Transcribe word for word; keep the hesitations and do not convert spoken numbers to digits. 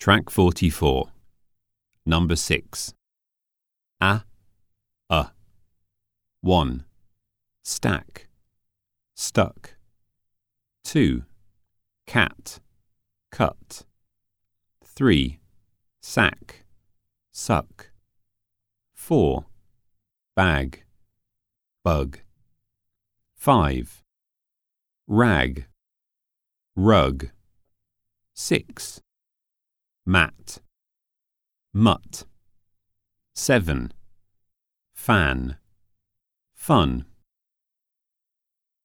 Track forty-four. Number six. A, a. One. Stack. Stuck. Two. Cat. Cut. Three. Sack. Suck. Four. Bag. Bug. Five. Rag. Rug. Six. Mat. Mutt. Seven. Fan. Fun.